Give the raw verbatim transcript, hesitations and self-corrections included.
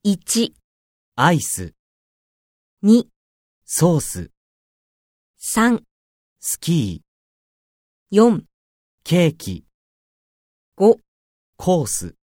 いち、 アイス、 に、 ソース、 さん、 スキー、 よん、 ケーキ、 ご、 コース。